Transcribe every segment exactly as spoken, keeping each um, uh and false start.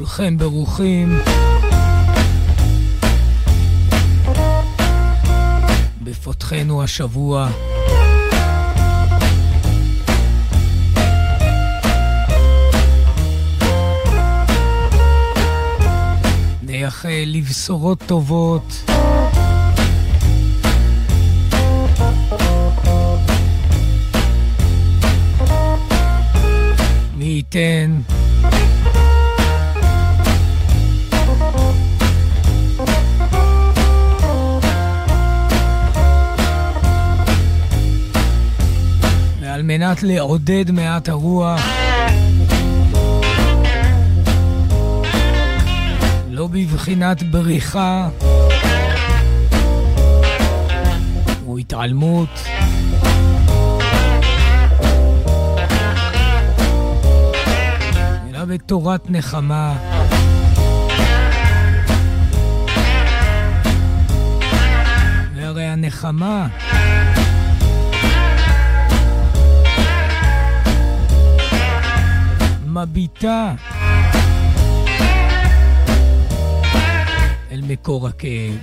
כולכם ברוכים. בפותחנו השבוע. נייחל לבשורות טובות. מי ייתן ועל מנת לעודד מעט הרוח, לא בבחינת בריחה או התעלמות, אלא בתורת נחמה, והרי הנחמה מביטה אל מקור הכאב.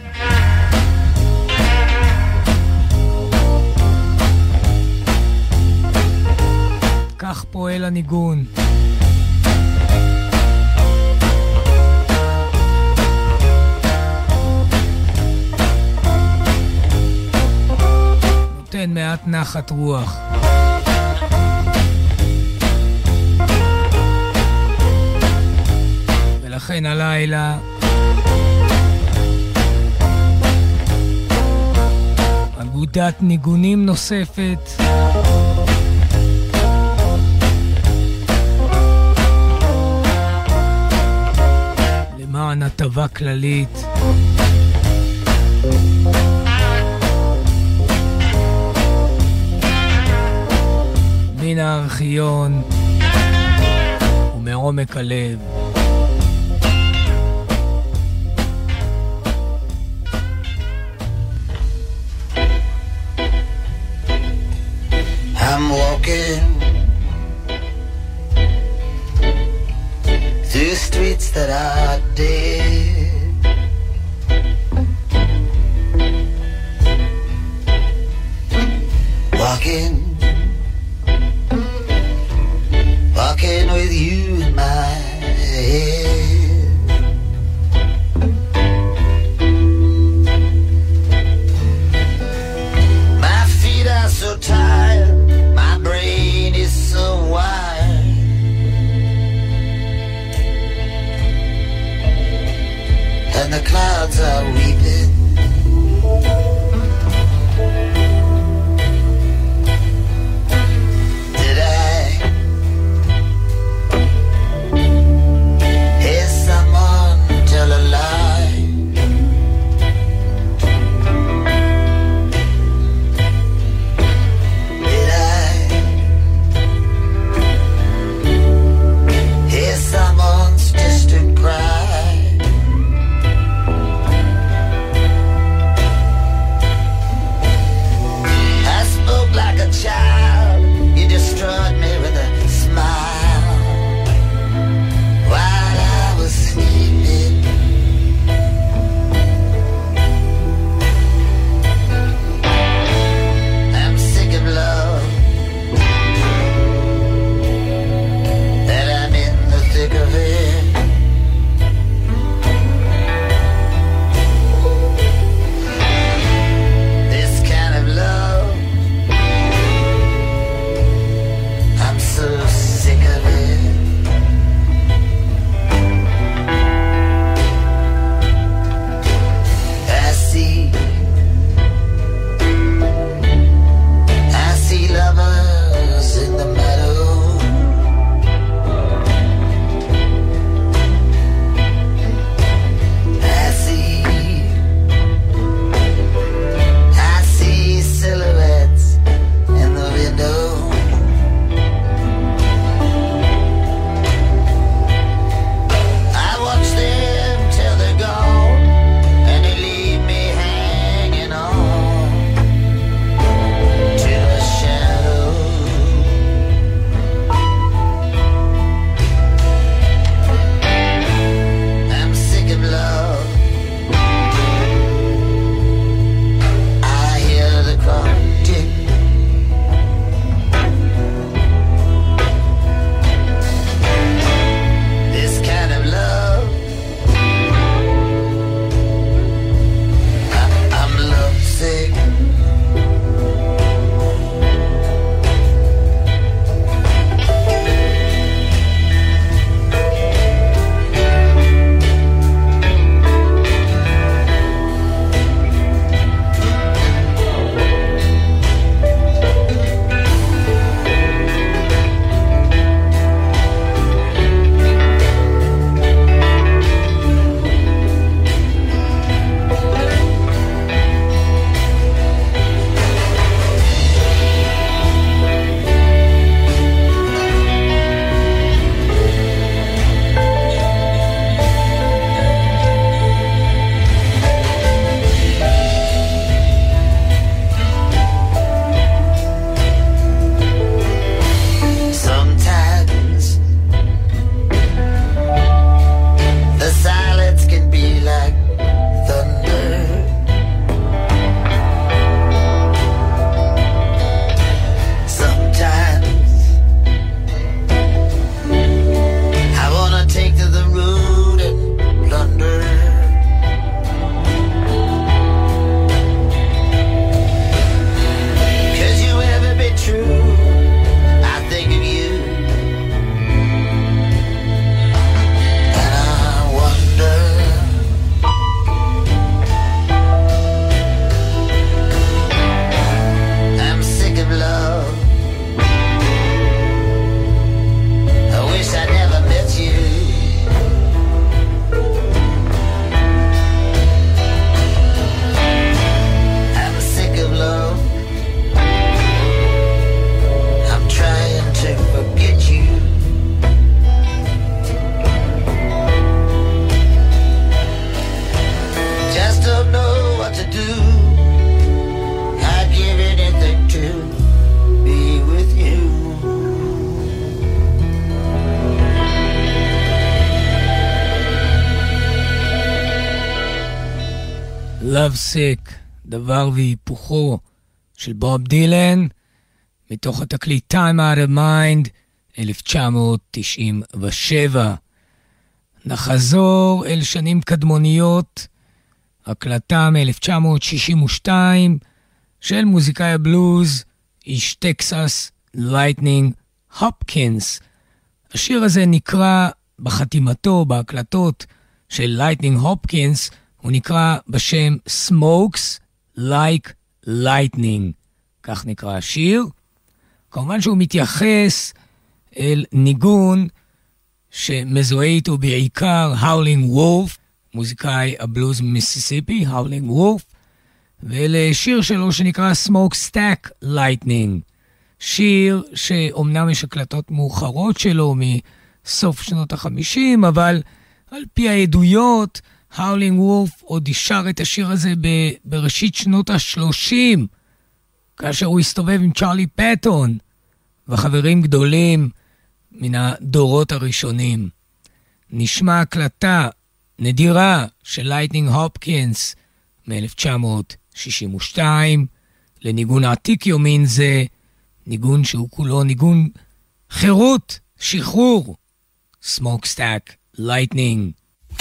כך פועל הניגון. נותן מעט נחת רוח. ולכן הלילה אגודת ניגונים נוספת למען הטבה כללית. מן הארכיון ומעומק הלב. I'm walking through streets that are dead, walking, walking with you in my head. My feet are so tired, my brain is so wired, and the clouds are weeping. Did I hear someone tell a lie? Did I hear someone's distant cry? Love Sick, דבר והיפוכו של בוב דילן, מתוך התקליט Time Out of Mind, אלף תשע מאות תשעים ושבע. נחזור אל שנים קדמוניות, הקלטה מ-אלף תשע מאות שישים ושתיים של מוזיקאי הבלוז, איש טקסס, לייטנינג הופקינס. השיר הזה נקרא בחתימתו, בהקלטות של לייטנינג הופקינס, הוא נקרא בשם Smokes Like Lightning. כך נקרא השיר. כמובן שהוא מתייחס אל ניגון שמזוהה איתו בעיקר Howling Wolf, מוזיקאי הבלוז מיסיסיפי, Howling Wolf, ולשיר שלו שנקרא Smoke Stack Lightning. שיר שאומנם יש הקלטות מאוחרות שלו מסוף שנות החמישים, אבל על פי העדויות, Howling Wolf עוד ישר את השיר הזה ב- בראשית שנות השלושים, כאשר הוא הסתובב עם צ'רלי פטון וחברים גדולים מן הדורות הראשונים. נשמע הקלטה נדירה של לייטנינג הופקינס מ-אלף תשע מאות שישים ושתיים, לניגון עתיק יומין זה, ניגון שהוא כולו ניגון חירות, שחרור, Smokestack Lightning.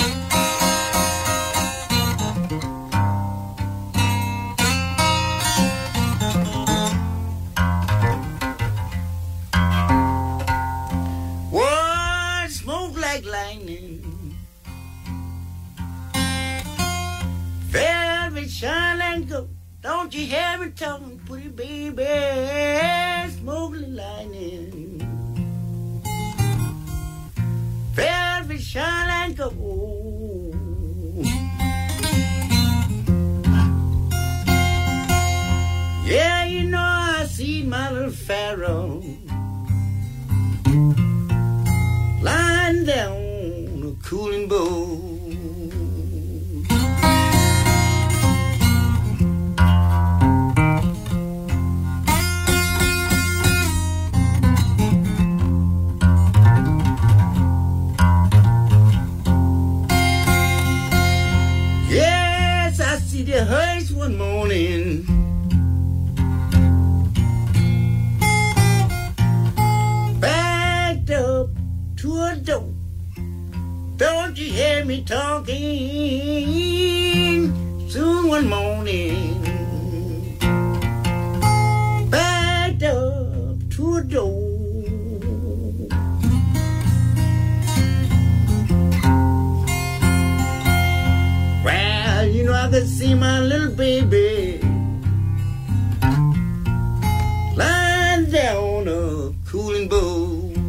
Shine and go, don't you hear me talking, pretty baby, smoke like lightning. Velvet shine and go. Yeah, you know I see my little pharaoh lying down a cooling bowl. The hearse one morning, backed up to a door. Don't you hear me talking? Soon one morning, backed up to a door. You know I could see my little baby lying down a cooling bowl.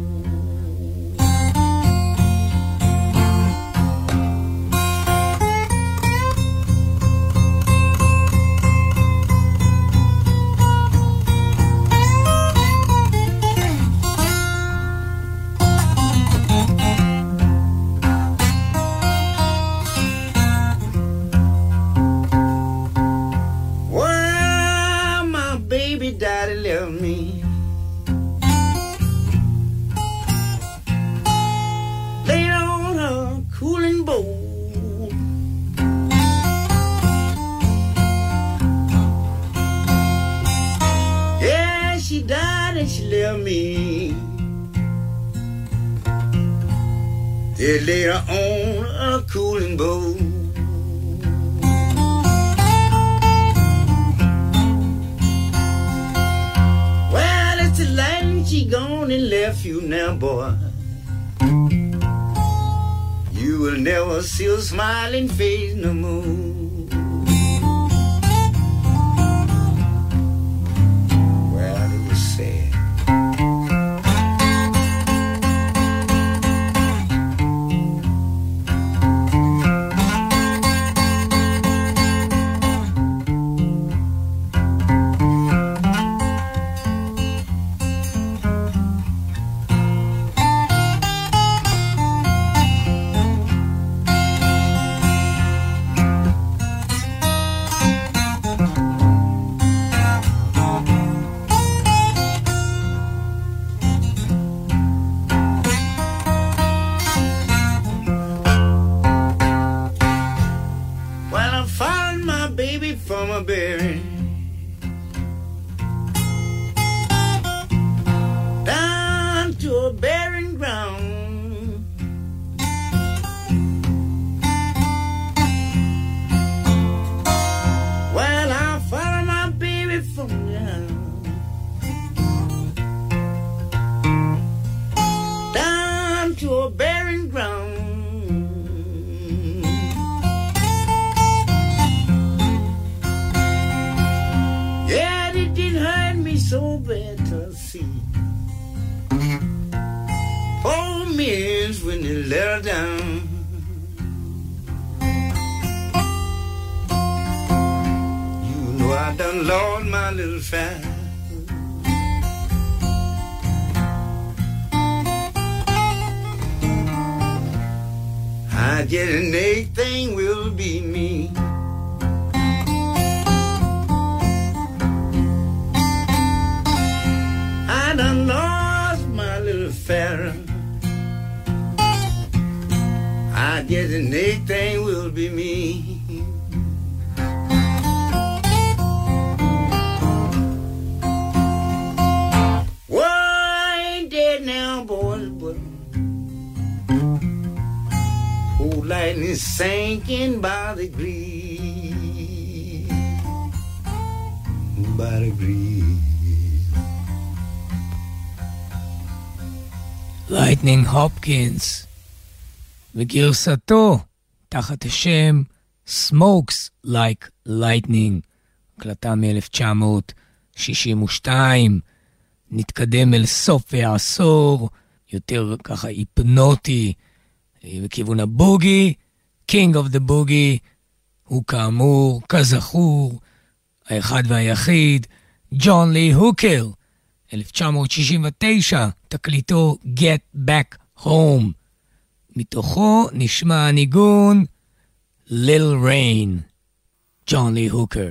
Daddy left me. Laid on a cooling bowl. Yeah, she died and she left me. They laid her on a cooling bowl. She gone and left you now, boy. You will never see her smiling face no more. Well, it was sad. from a berry down to a barren ground. Well, I follow my baby from down down to a barren ground. So bad to see poor means when they let her down. You know I done lost my little fat. I get an anything will be me. I done lost my little Pharaoh. I guess the next thing will be me. Well, I ain't dead now, boys, but old lightning sinking by the degrees, by the degrees. לייטנינג הופקינס וגרסתו תחת השם Smokes Like Lightning, הקלטה מ-אלף תשע מאות שישים ושתיים. נתקדם אל סוף העשור, יותר ככה היפנוטי בכיוון הבוגי. King of the Boogie הוא כאמור, כזכור, האחד והיחיד ג'ון לי הוקר, אלף תשע מאות שישים ותשע, תקליטו Get Back Home. מתוכו נשמע הניגון Little Rain, ג'ון לי הוקר.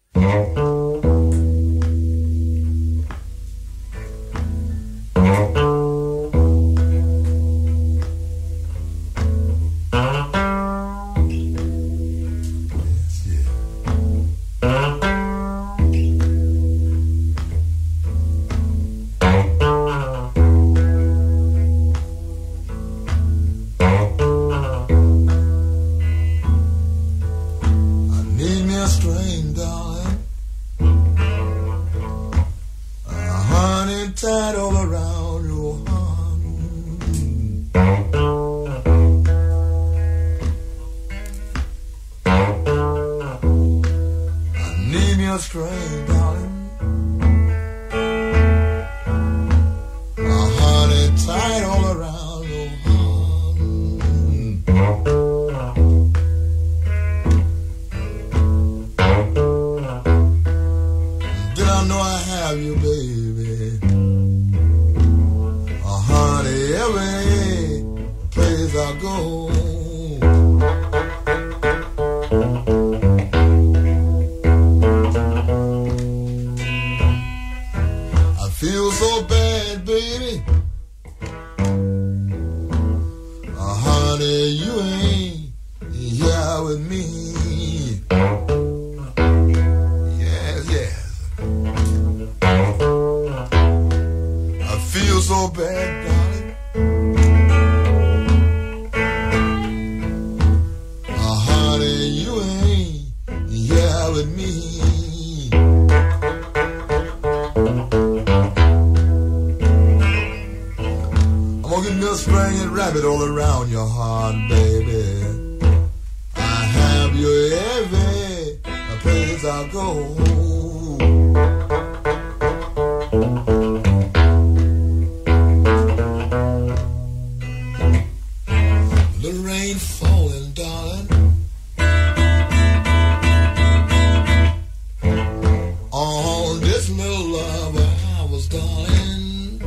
Tied all around your heart. I need me a string, darling. A honey tied all around your heart. Did I know I have you, baby? Every place I go, I feel so bad, baby. Oh, honey, you ain't here with me. Yes, yes. I feel so bad, darling. With me, I'm gonna get me a string and wrap it all around your heart, baby. I have you every place I go. The rain falling, darling. On this little lover I was darling.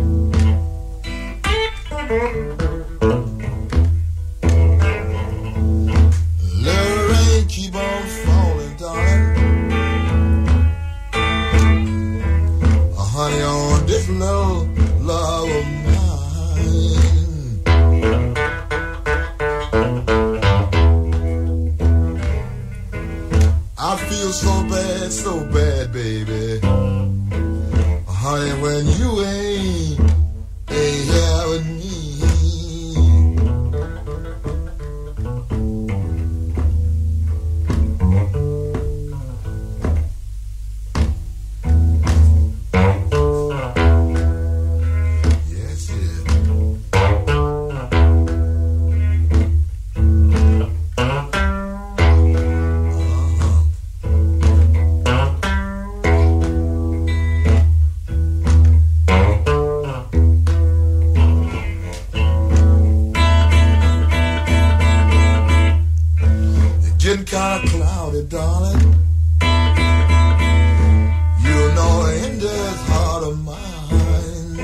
Let the rain keep on falling, darling. Oh, honey, on this little love of mine. I feel so bad, so bad, baby. Honey, when you ain't, ain't here with me. Kind of cloudy, darling. You know, in this heart of mine,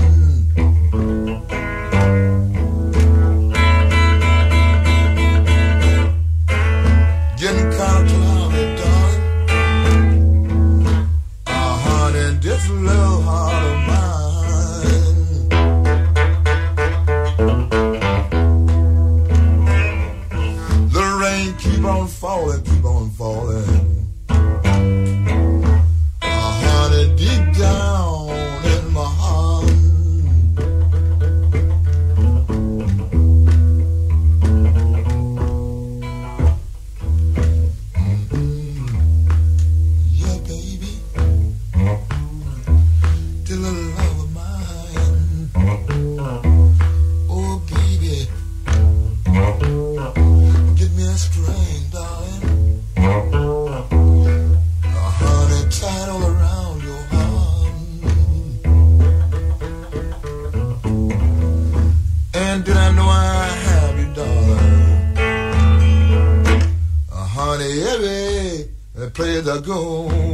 getting kind of cloudy, darling. Uh, honey, this little heart of mine. The rain keep on falling, keep on falling. Oh, honey, deep down in my heart. Mm-hmm. Yeah, baby. Till the love of mine. Oh, baby. Get me a string, darling. A honey tied all around your heart. And did I know I have you, darling? A honey, every place I go.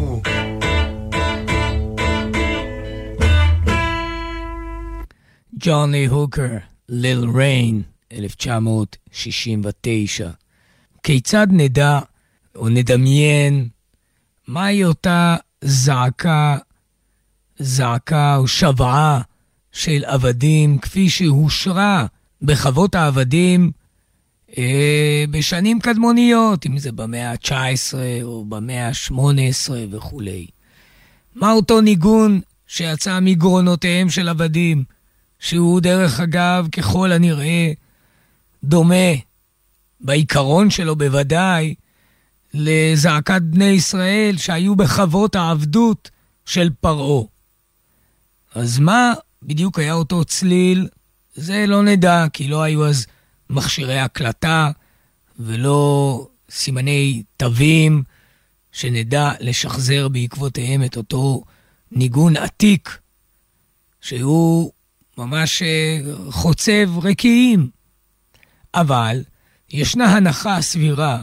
ג'ון לי הוקר, ליל ריין, אלף תשע מאות שישים ותשע. כיצד נדע או נדמיין מהי אותה זעקה, זעקה או שבעה של עבדים כפי שהושרה בחוות העבדים אה, בשנים קדמוניות, אם זה במאה ה-תשע עשרה או במאה ה-שמונה עשרה וכו'. מה אותו ניגון שיצא מגרונותיהם של עבדים, שהוא דרך אגב ככל הנראה דומה בעיקרון שלו בוודאי לזעקת בני ישראל שהיו בחוות העבדות של פרעה. אז מה בדיוק היה אותו צליל? זה לא נדע, כי לא היו אז מכשירי הקלטה ולא סימני תווים שנדע לשחזר בעקבותיהם את אותו ניגון עתיק שהוא ממש חוצב רקיעים. אבל ישנה הנחה סבירה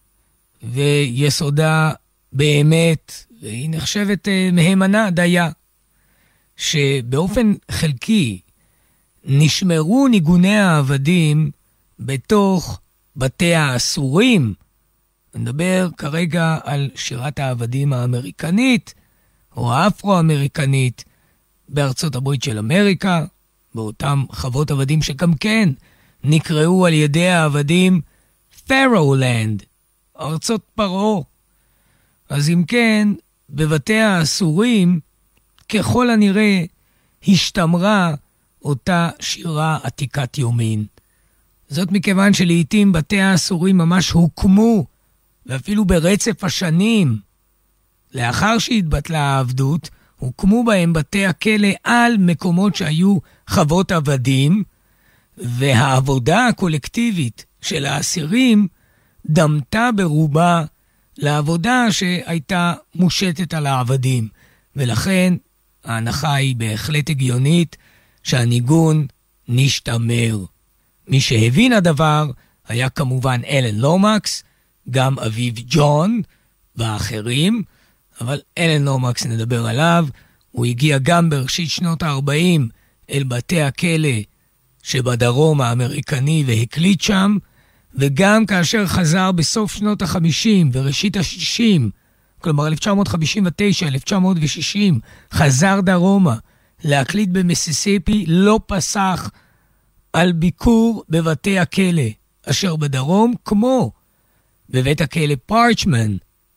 ויסודה באמת, והיא נחשבת מהימנה דייה, שבאופן חלקי נשמרו ניגוני העבדים בתוך בתי האסורים. נדבר כרגע על שירת העבדים האמריקנית או האפרו-אמריקנית בארצות הברית של אמריקה, באותם חוות עבדים שגם כן נקראו על ידי העבדים פארולנד, ארצות פרעה. אז אם כן, בבתי האסורים ככל הנראה השתמרה אותה שירה עתיקת יומין. זאת מכיוון שלעיתים בתי האסורים ממש הוקמו, ואפילו ברצף השנים לאחר שהתבטלה העבדות, הוקמו בהם בתי הכלא על מקומות שהיו חוות עבדים, והעבודה הקולקטיבית של האסירים דמתה ברובה לעבודה שהייתה מושתת על העבדים. ולכן ההנחה היא בהחלט הגיונית שהניגון נשתמר. מי שהבין הדבר היה כמובן אלן לומקס, גם אביו ג'ון ואחרים, אבל אלן לומקס נדבר עליו. הוא הגיע גם בראשית שנות ה-ארבעים אל בתי הכלא שבדרום האמריקני והקליט שם, וגם כאשר חזר בסוף שנות ה-חמישים וראשית ה-שישים, כלומר אלף תשע מאות חמישים ותשע אלף תשע מאות שישים, חזר דרומה להקליט במיסיסיפי, לא פסח על ביקור בבתי הכלא אשר בדרום, כמו בבית הכלא פארצ'מן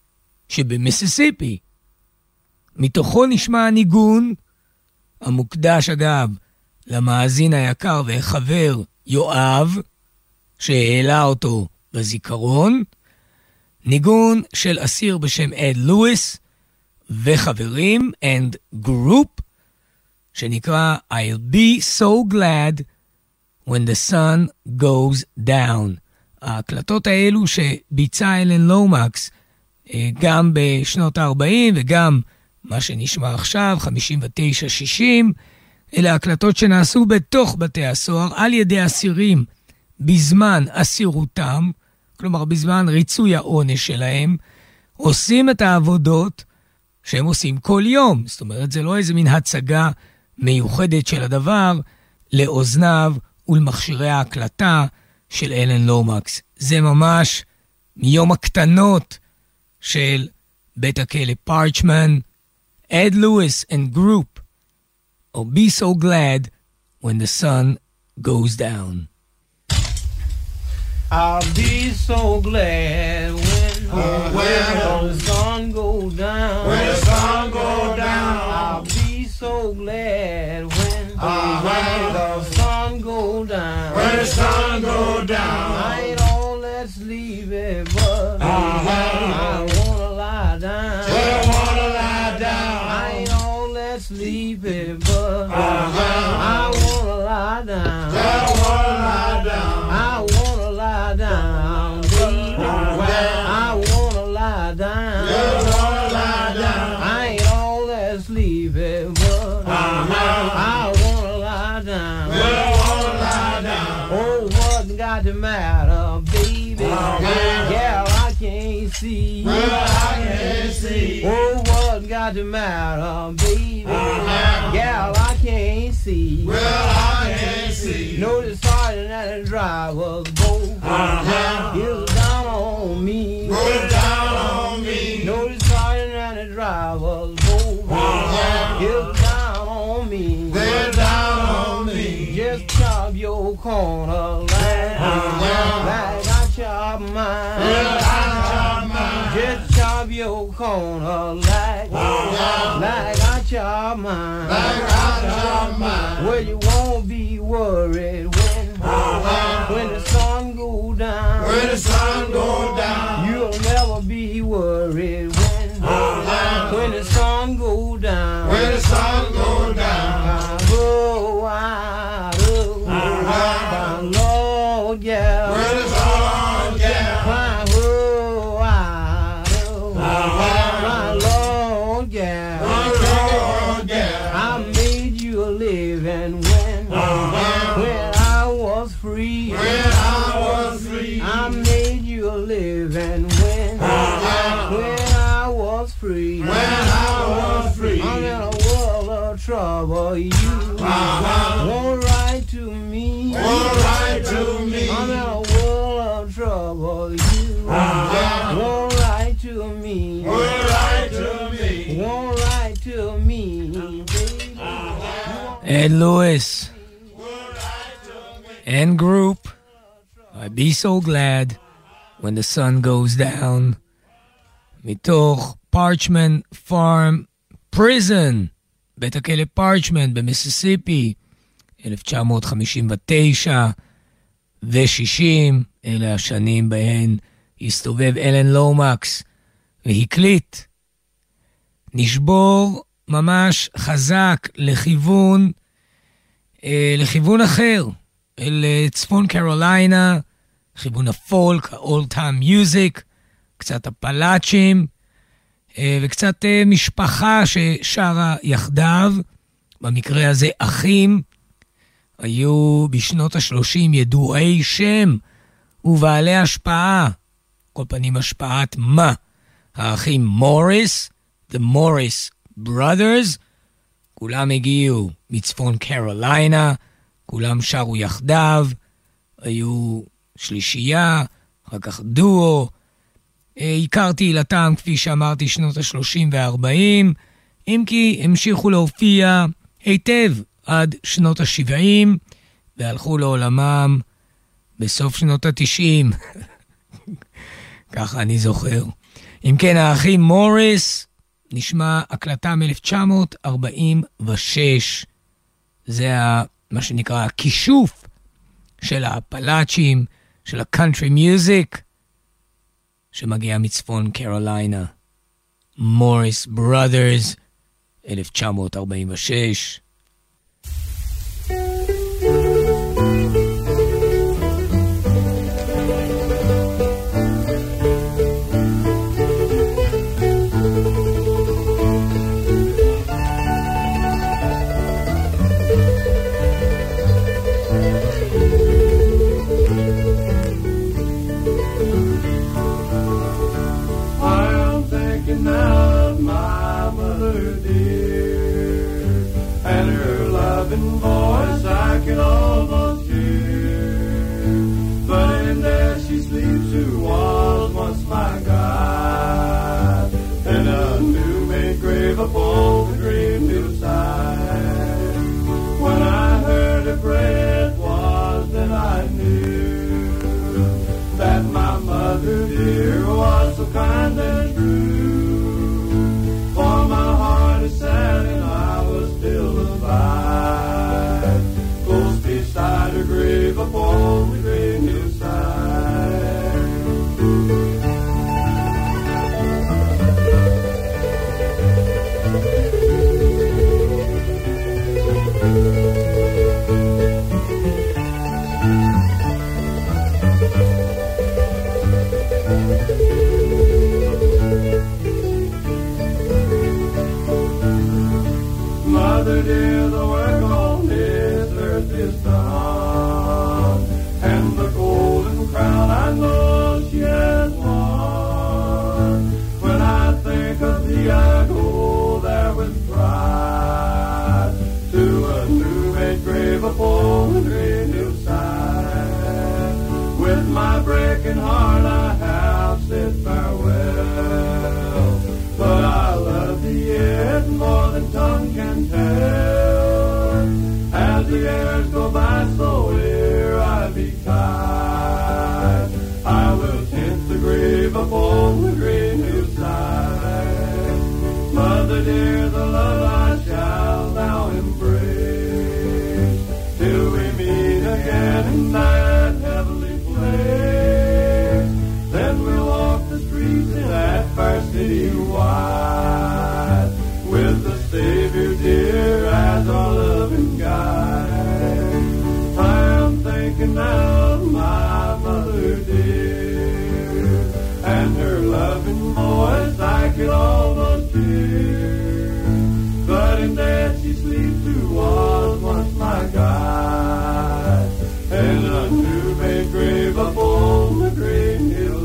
שבמיסיסיפי. מתוכו נשמע הניגון, המוקדש אגב למאזין היקר והחבר יואב, שהעלה אותו בזיכרון, ניגון של אסיר בשם אד לואיס וחברים and group, שנקרא I'll be so glad when the sun goes down. ההקלטות האלו שביצע אלן לומקס גם בשנות ה-ארבעים וגם מה שנשמע עכשיו, חמישים ותשע שישים, אלה הקלטות שנעשו בתוך בתי הסוהר על ידי אסירים בזמן אסירותם, כלומר בזמן ריצוי העונש שלהם, עושים את העבודות שהם עושים כל יום. זאת אומרת, זה לא איזה מין הצגה מיוחדת של הדבר לאוזניו ולמכשירי ההקלטה של אלן לומקס. זה ממש מיום הקטנות של בית הכלא פארצ'מן, Ed Lewis and group, I'll be so glad when the sun goes down. I'll be so glad when, uh, when the sun goes down. When the sun goes down. I'll be so glad when, uh, when the sun goes down. When the sun goes down. I ain't all that sleepy, but uh, I wanna lie down. Just wanna lie down. I ain't all that sleepy, but uh, I wanna lie down. Just wanna lie down. I wanna lie down, baby. I wanna lie down. Just wanna lie down. I ain't all that sleepy, but I wanna lie down. Just wanna lie down. Oh, what got the matter, baby? Yeah, I can't see. Well, I can't see. Oh, what got the matter, baby? Yeah, I can't see. Well, I can't see. No, the sergeant and the driver's both Uh-huh. is down on me. Roll down on me. No, the sergeant and the driver's both Uh-huh. is down on me. They're down on me. Just chop your corner like, Uh-huh. like I chop mine. Well, I chop mine. Just chop your corner like, Uh-huh. like I chop mine. Like I chop mine. Well, you won't be worried when, Uh-huh. when the sun go down. When the sun goes down. You'll never be worried when, Uh-huh. when the sun go down. When the sun goes down. I go out, oh, Uh-huh. my Lord, yeah. When the sun goes down. My go out, oh, Uh-huh. my Lord, yeah. When the sun goes down. I made you a living when, Uh-huh. when I was free. When I was free. I made you a living when, Uh-huh. when I was free. When I was free. I'm in a world of trouble. You Uh-huh. won't write to me. Won't write to me. I'm in a world of trouble. You Uh-huh. won't write to me. Won't write to me. Won't write to me, baby. Ed Lewis and group, I'd be so glad when the sun goes down. מתוך פארצ'מן פארם פריזן, בית הכלא פארצ'מן במיסיסיפי, אלף תשע מאות חמישים ותשע ו-שישים, אלה השנים בהן הסתובב אלן לומקס והקליט. נשבור ממש חזק לכיוון, אה, לכיוון אחר, אל צפון קרוליינה, לכיוון הפולק, ה-old time music, קצת הפלאצ'ים, אה, וקצת אה, משפחה ששרה יחדיו, במקרה הזה אחים, היו בשנות ה-שלושים ידועי שם ובעלי השפעה, כל פנים השפעת מה? האחים מוריס, The Morris Brothers, כולם הגיעו מצפון קרוליינה, כולם שרו יחדיו, היו שלישייה, אחר כך דואו, הכרתי עילתם כפי שאמרתי שנות ה-שלושים וה-ארבעים, אם כי המשיכו להופיע היטב עד שנות ה-שבעים, והלכו לעולמם בסוף שנות ה-תשעים, ככה אני זוכר. אם כן, האחים מוריס, נשמע הקלטה מ-אלף תשע מאות ארבעים ושש. זה מה שנקרא הכישוף של הפלאצ'ים, של הקאנטרי מיוזיק, שמגיע מצפון קרוליינה. מוריס בראדרס, אלף תשע מאות ארבעים ושש. Of my mother dear, and her loving voice I can almost hear. But in there she sleeps who was once my guide, in a new-made grave upon the green hillside. When I heard her pray, it was then I knew that my mother dear was so kind and true. For my heart is sad and I was still alive, close beside her grave upon the green hillside. Mother dear, the work on this earth is done, and the golden crown I know she has won. When I think of thee, I go there with pride, to a new-made grave upon the green hillside. With my breaking heart I have said farewell, but I love thee yet more than tongue can tell. As the years go by, so ere I be tied, I will tint the grave upon the green hillside. Mother dear, the love I shall now embrace, till we meet again in that heavenly place. Then we'll walk the streets in that fair city wide, with the Savior dear as our loving guide. I am thinking now of my mother dear, and her loving voice I can almost hear. But in death she sleeps who was once my guide, in a new-made grave upon the green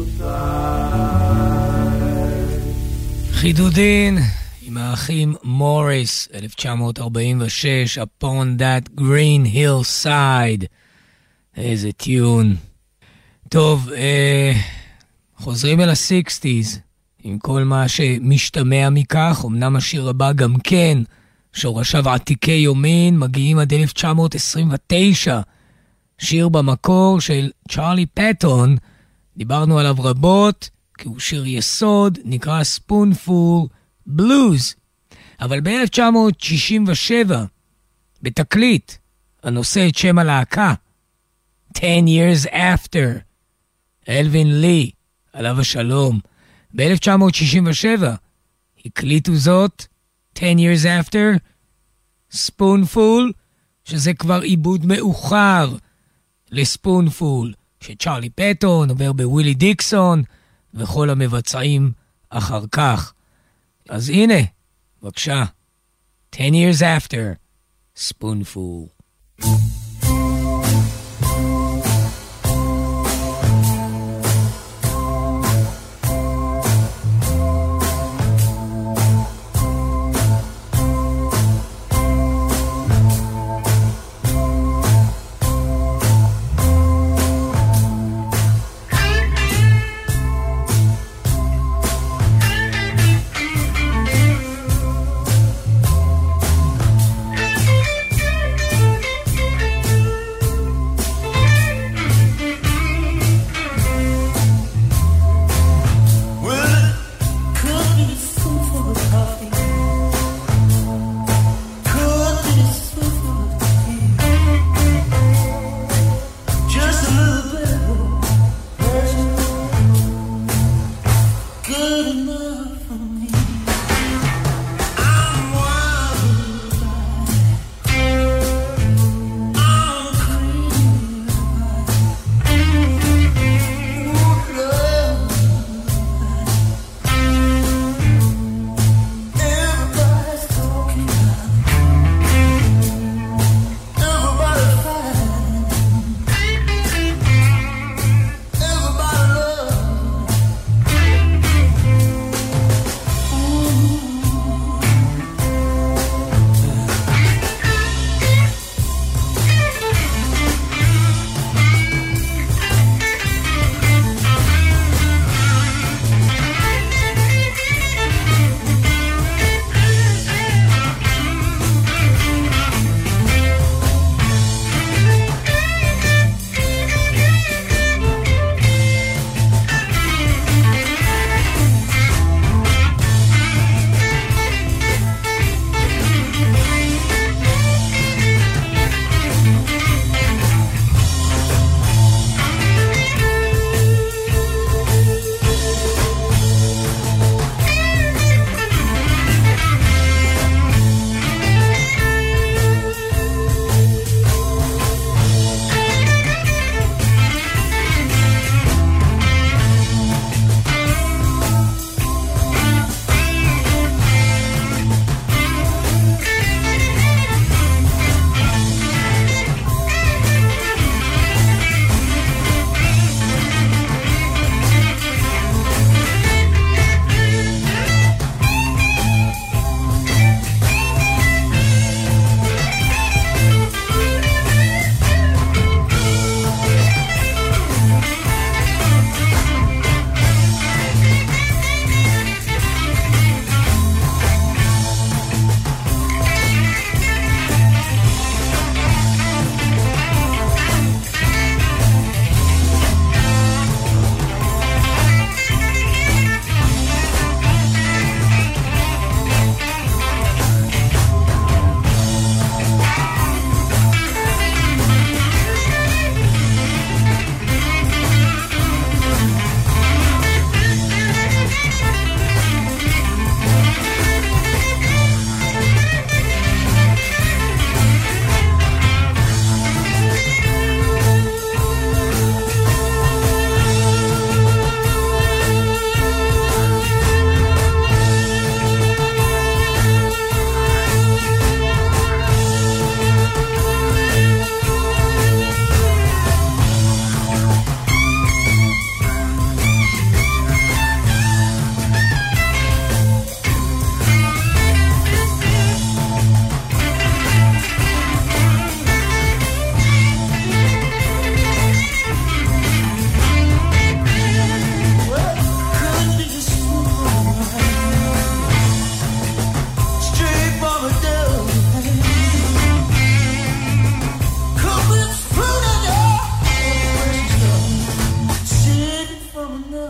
hillside. חידודין עם האחים מוריס, אלף תשע מאות ארבעים ושש, Upon That Green Hillside. איזה טיון. טוב, אה, חוזרים אל ה-שישים, עם כל מה שמשתמע מכך. אמנם השיר הבא גם כן, שורשיו עתיקי יומין, מגיעים עד אלף תשע מאות עשרים ותשע. שיר במקור של צ'רלי פטון, דיברנו עליו רבות, כי הוא שיר יסוד, נקרא Spoonful Blues. אבל ב-אלף תשע מאות שישים ושבע, בתקליט, הנושא את שם הלהקה, Ten Years After, אלווין לי, עליו השלום, ב-אלף תשע מאות שישים ושבע, הקליטו זאת, Ten Years After, Spoonful, שזה כבר עיבוד מאוחר לספונפול, שצ'רלי פטון עובר בווילי דיקסון, וכל המבצעים אחר כך. אז הנה, בבקשה, Ten Years After, Spoonful. Thank you.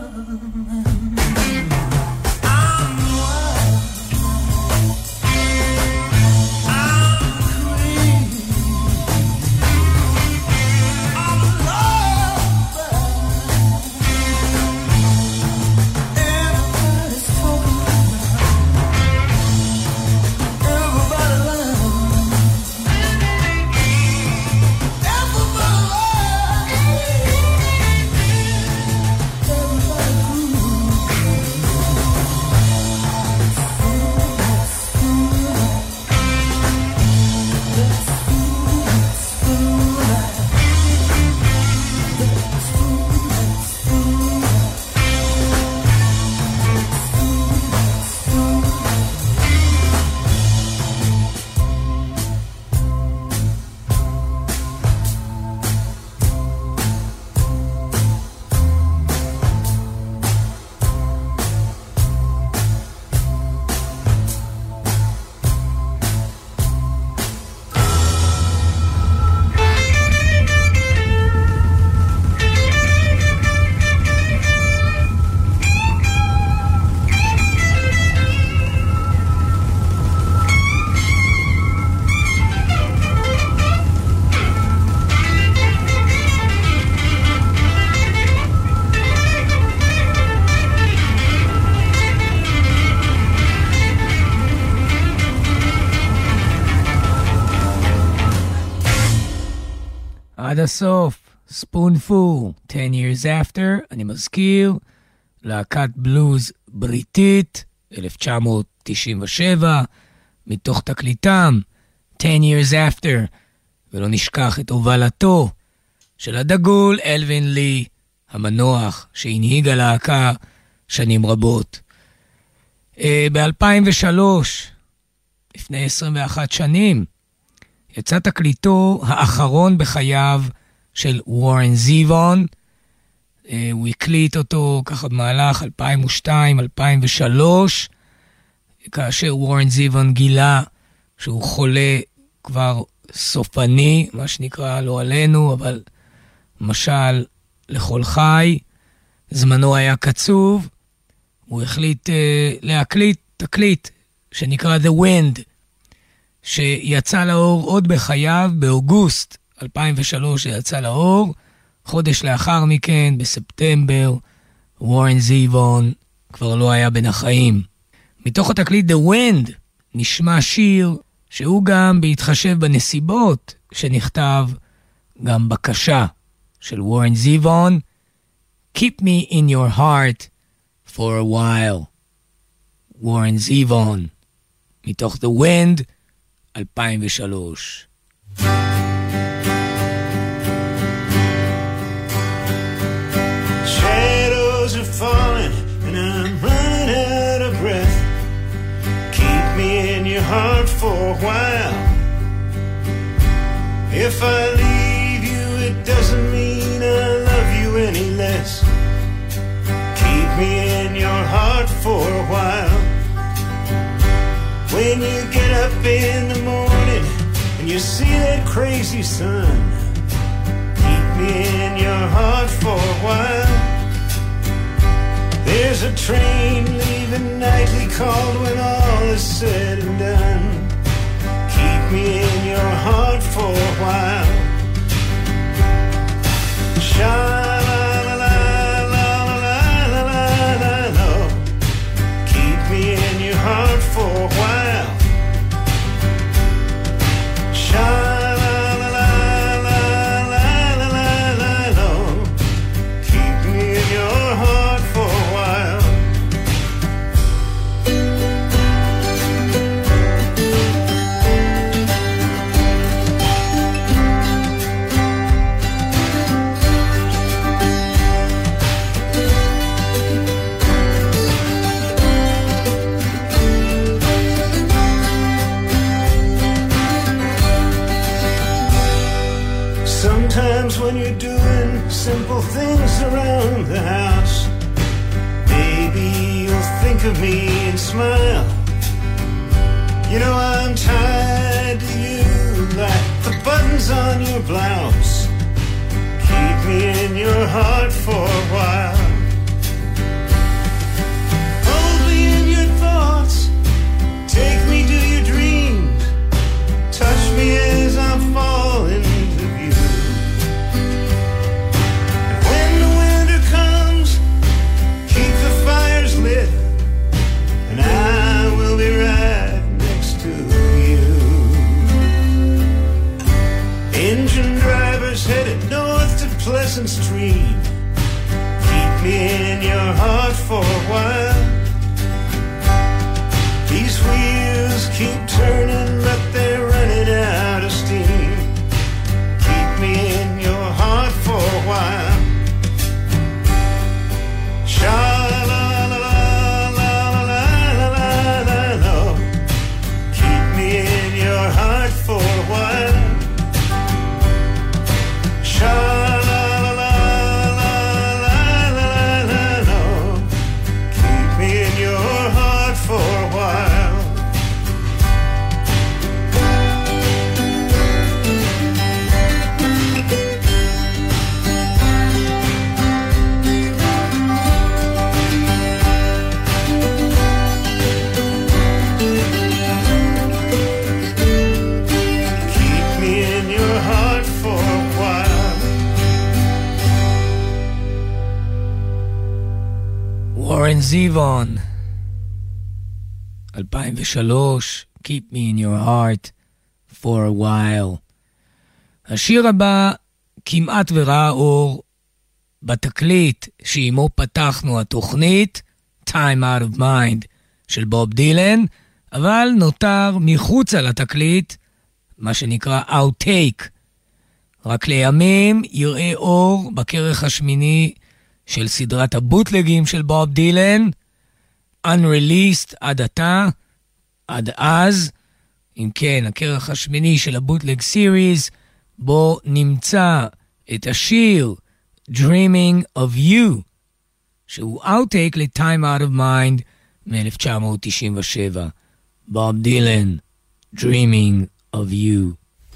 עד הסוף, ספונפול, ten years after, אני מזכיר, להקת בלוז בריטית, אלף תשע מאות תשעים ושבע, מתוך תקליטם, ten years after, ולא נשכח את הובלתו של הדגול אלווין לי, המנוח שהנהיג הלהקה שנים רבות. ב-אלפיים ושלוש, לפני עשרים ואחת שנים, יצא תקליטו האחרון בחייו של וורן זיוון. הוא הקליט אותו ככה במהלך אלפיים ושתיים אלפיים ושלוש, כאשר וורן זיוון גילה שהוא חולה כבר סופני, מה שנקרא לא עלינו, אבל משל לכל חי. זמנו היה קצוב, הוא החליט uh, להקליט תקליט שנקרא The Wind, שיצא לאור עוד בחייו, באוגוסט אלפיים ושלוש שיצא לאור. חודש לאחר מכן, בספטמבר, וורן זיוון כבר לא היה בין החיים. מתוך התקליט The Wind נשמע שיר שהוא גם בהתחשב בנסיבות שנכתב, גם בקשה של וורן זיוון, Keep me in your heart for a while. וורן זיוון, מתוך The Wind, אלפיים ושלוש. Shadows are falling and I'm running out of breath. Keep me in your heart for a while. If I leave you, it doesn't mean I love you any less. Keep me in your heart for a while. When you get up in the morning and you see that crazy sun, keep me in your heart for a while. There's a train leaving nightly called when all is said and done. Keep me in your heart for a while. Sha-la-la-la-la-la-la-la-la. Keep me in your heart for a while. Sha-la-la-la-la-la-la-la-la. Keep me in your heart for a while. Sometimes when you're doing simple things around the house, maybe you'll think of me and smile. You know I'm tied to you like the buttons on your blouse. Keep me in your heart for a while. your heart for a while. These wheels keep turning, but they're running out of steam. Keep me in your heart for a while. Sha-la-la-la-la-la-la-la-la. Keep me in your heart for a while. Sha-la-la-la-la-la-la-la. Keep me in your heart for a while. Keep me in your heart for a while. וורן זיוון, אלפיים ושלוש, Keep me in your heart for a while. השיר הבא כמעט וראה אור בתקליט שעימו פתחנו התוכנית, Time Out of Mind של בוב דילן, אבל נותר מחוץ על התקליט, מה שנקרא Outtake. רק לימים יראה אור בכרך השמיני של סדרת הבוטלגים של בוב דילן, Unreleased עד עתה, עד אז. אם כן, הכרך השמיני של הבוטלג סיריז, בו נמצא את השיר Dreaming of You, שהוא Outtake ל-Time Out of Mind מ-אלף תשע מאות תשעים ושבע. בוב דילן, Dreaming of You.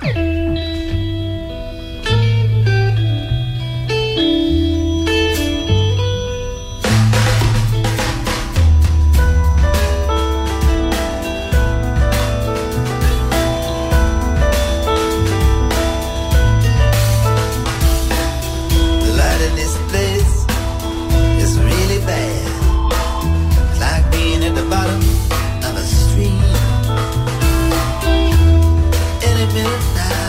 The light in this place is really bad. It's like being at the bottom of a stream. Any minute now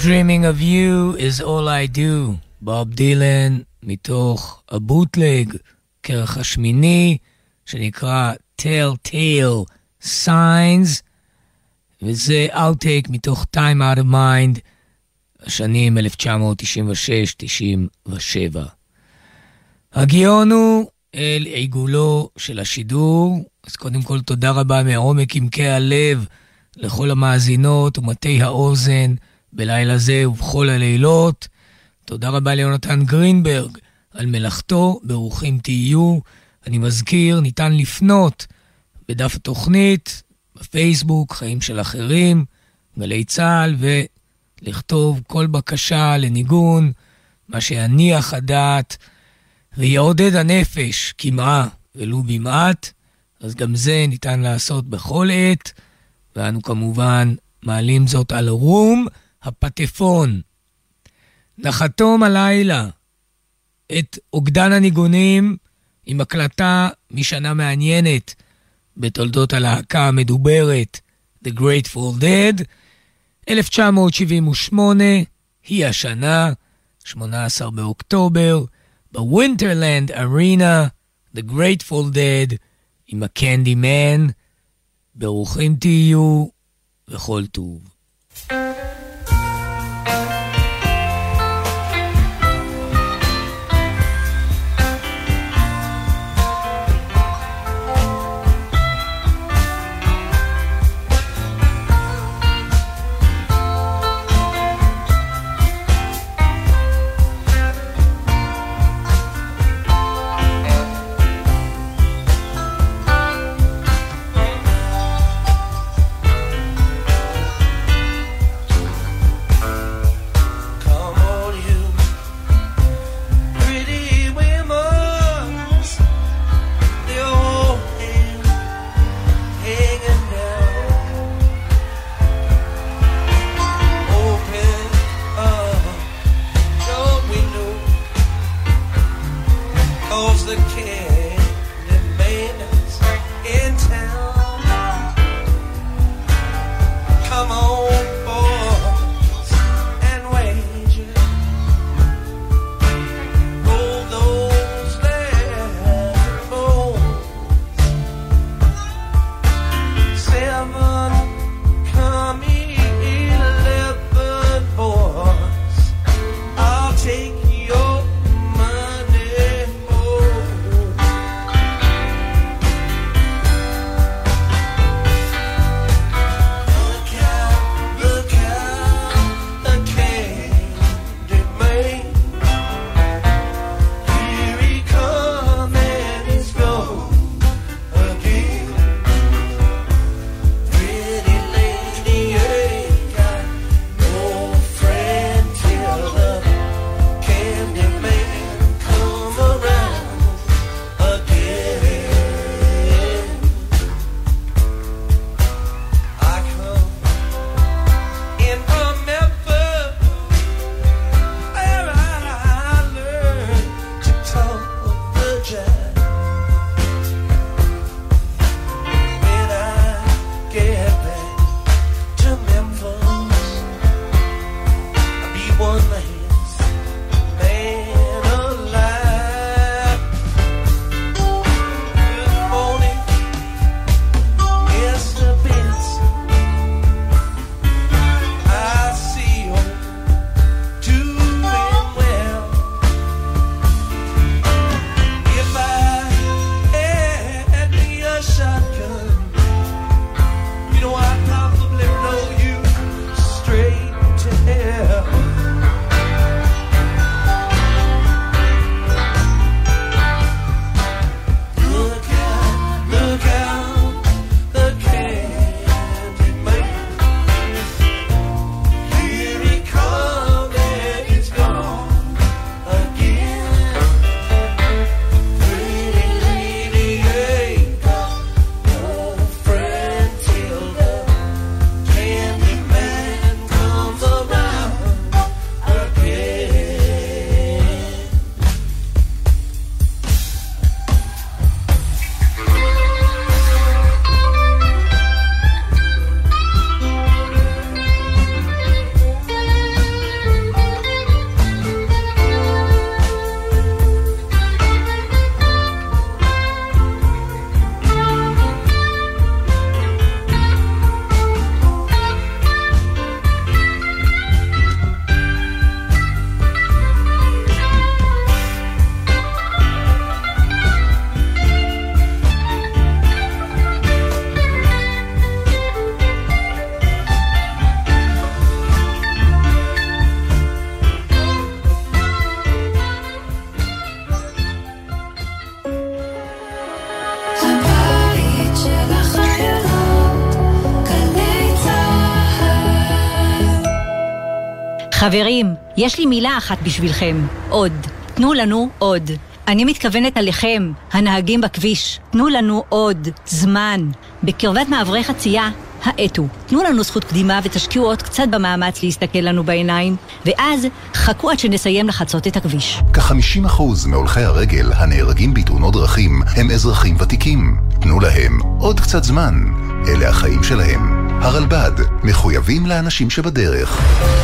Dreaming of you is all I do, בוב דילן, מתוך הבוטלג, כרך השמיני, שנקרא Telltale Signs, וזה Outtake מתוך Time Out of Mind, השנים אלף תשע מאות תשעים ושש תשעים ושבע. הגיון הוא אל עיגולו של השידור, אז קודם כל תודה רבה מעומק עמקי הלב לכל המאזינות ומתי האוזן בלילה זה ובכל הלילות. תודה רבה ליונתן גרינברג על מלאכתו, ברוכים תהיו. אני מזכיר, ניתן לפנות בדף התוכנית, בפייסבוק, חיים של אחרים, גלי צהל, ולכתוב כל בקשה לניגון, מה שיניח הדעת ויעודד הנפש כמעה ולו במעט, אז גם זה ניתן לעשות בכל עת, ואנו כמובן מעלים זאת על רום הפטפון. נחתום הלילה את אוגדן הניגונים עם הקלטה משנה מעניינת בתולדות הלהקה המדוברת The Grateful Dead, אלף תשע מאות שבעים ושמונה, היא השנה, שמונה עשר באוקטובר, בווינטרלנד ארינה, The Grateful Dead עם הקנדי מן. ברוכים תהיו וכל טוב. Thank חברים, יש לי מילה אחת בשבילכם. עוד. תנו לנו עוד. אני מתכוונת עליכם, הנהגים בכביש. תנו לנו עוד זמן. בקרבת מעברי חצייה, האטו. תנו לנו זכות קדימה ותשקיעו עוד קצת במאמץ להסתכל לנו בעיניים, ואז חכו עד שנסיים לחצות את הכביש. כ-חמישים אחוז מהולכי הרגל הנהרגים בתאונות דרכים הם אזרחים ותיקים. תנו להם עוד קצת זמן. אלה החיים שלהם. הרלב"ד, מחויבים לאנשים שבדרך.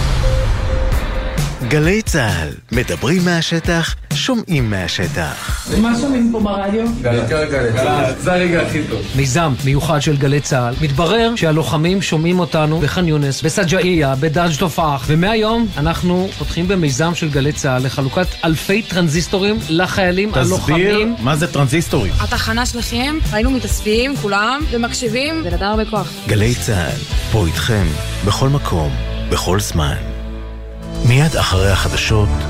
גלי צהל, מדברים מהשטח, שומעים מהשטח. מה שומעים פה ברדיו? גלי גלי גלי, זה הרגע הכי טוב. מיזם מיוחד של גלי צהל. מתברר שהלוחמים שומעים אותנו בח'אן יונס, בסג'אעיה, בדאג' תופח, ומהיום אנחנו פותחים במיזם של גלי צהל לחלוקת אלפי טרנזיסטורים לחיילים הלוחמים. תסביר מה זה טרנזיסטורים. התחנה שלכם, היינו מתאספים כולם ומקשיבים, זה נדע הרבה כוח. גלי צהל, פה איתכם, בכל מקום, בכל זמן. מיד אחרי החדשות,